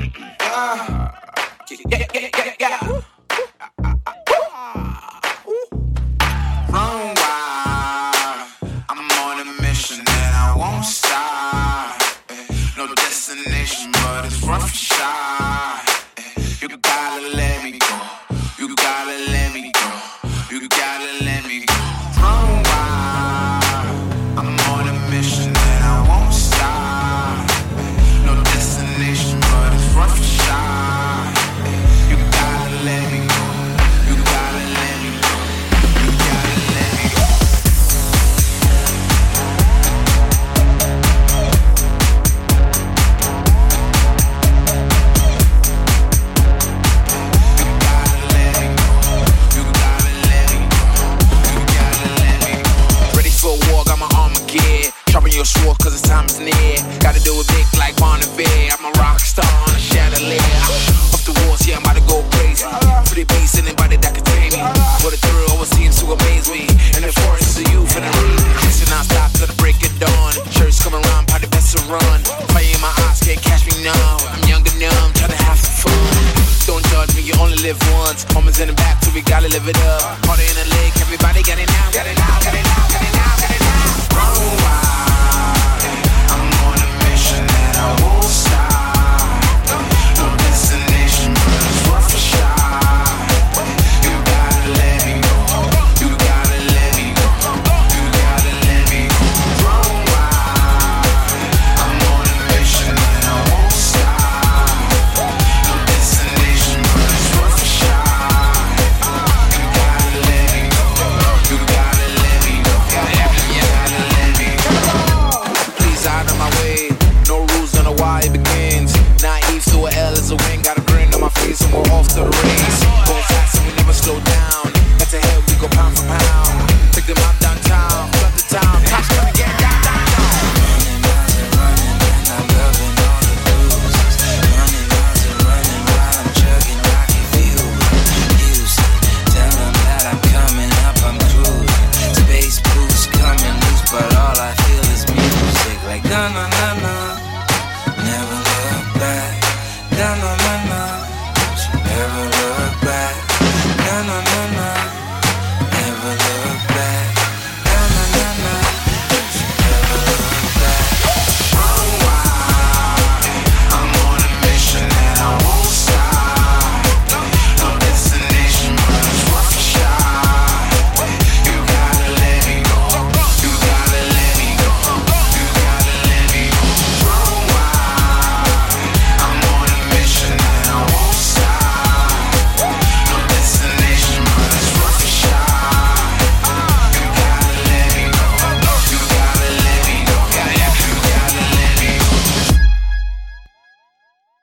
Run wild, I'm on a mission and I won't stop. No destination, but it's rough and shy. You gotta let me go. You gotta let me go. You gotta let me go. Run wild, I'm on a mission and I won't stop. No destination, but it's rough and shy. You gotta let me go. You gotta let me go. You gotta let me go. Sharpen your sword cause the time is near. Gotta do it big like Bonnevere. I'm a rock star on a chandelier. Off the walls, yeah, I'm about to go crazy. For the bass, anybody that can tame me. For the thrill, always seems to amaze me. And the forest of youth and the rain. Chasing non-stop till the break of dawn. Shirts coming around, probably best to run. Fire in my eyes, can't catch me now. I'm young and numb, trying to have some fun. Don't judge me, you only live once. Homies in the back, so we gotta live it up. Party in the lake, everybody got it now.